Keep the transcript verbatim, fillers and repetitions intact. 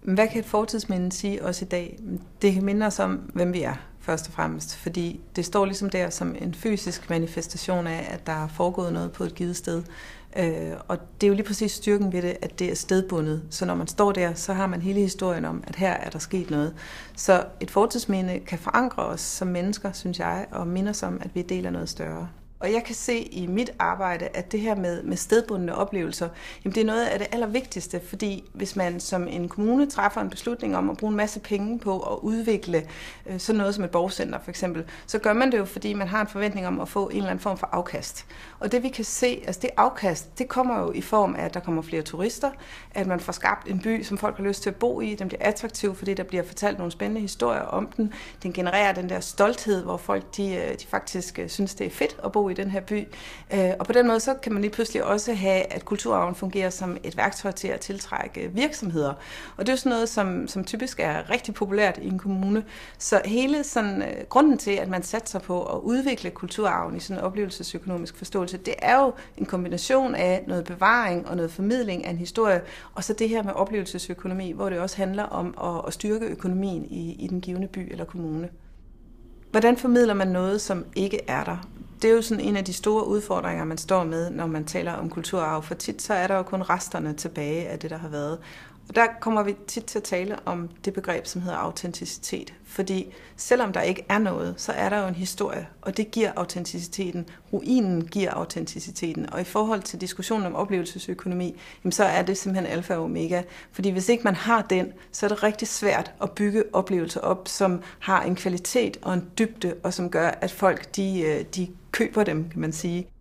Men hvad kan et fortidsminde sige os i dag? Det kan minde os om, hvem vi er, først og fremmest. Fordi det står ligesom der som en fysisk manifestation af, at der er foregået noget på et givet sted. Øh, og det er jo lige præcis styrken ved det, at det er stedbundet. Så når man står der, så har man hele historien om, at her er der sket noget. Så et fortidsminde kan forankre os som mennesker, synes jeg, og minde os om, at vi deler noget større. Og jeg kan se i mit arbejde, at det her med, med stedbundne oplevelser, jamen det er noget af det allervigtigste, fordi hvis man som en kommune træffer en beslutning om at bruge en masse penge på at udvikle øh, sådan noget som et borgcenter for eksempel, så gør man det jo, fordi man har en forventning om at få en eller anden form for afkast. Og det vi kan se, altså det afkast, det kommer jo i form af, at der kommer flere turister, at man får skabt en by, som folk har lyst til at bo i, den bliver attraktiv, fordi der bliver fortalt nogle spændende historier om den. Den genererer den der stolthed, hvor folk de, de faktisk synes, det er fedt at bo i den her by. Og på den måde så kan man lige pludselig også have, at kulturarven fungerer som et værktøj til at tiltrække virksomheder. Og det er jo sådan noget, som, som typisk er rigtig populært i en kommune. Så hele sådan, grunden til, at man satser på at udvikle kulturarven i sådan en oplevelsesøkonomisk forståelse, det er jo en kombination af noget bevaring og noget formidling af en historie, og så det her med oplevelsesøkonomi, hvor det også handler om at, at styrke økonomien i, i den givne by eller kommune. Hvordan formidler man noget, som ikke er der? Det er jo sådan en af de store udfordringer, man står med, når man taler om kulturarv. For tit så er der jo kun resterne tilbage af det, der har været. Og der kommer vi tit til at tale om det begreb, som hedder autenticitet. Fordi selvom der ikke er noget, så er der jo en historie, og det giver autenticiteten. Ruinen giver autenticiteten. Og i forhold til diskussionen om oplevelsesøkonomi, jamen så er det simpelthen alfa og omega. Fordi hvis ikke man har den, så er det rigtig svært at bygge oplevelser op, som har en kvalitet og en dybde, og som gør, at folk de, de køber dem, kan man sige.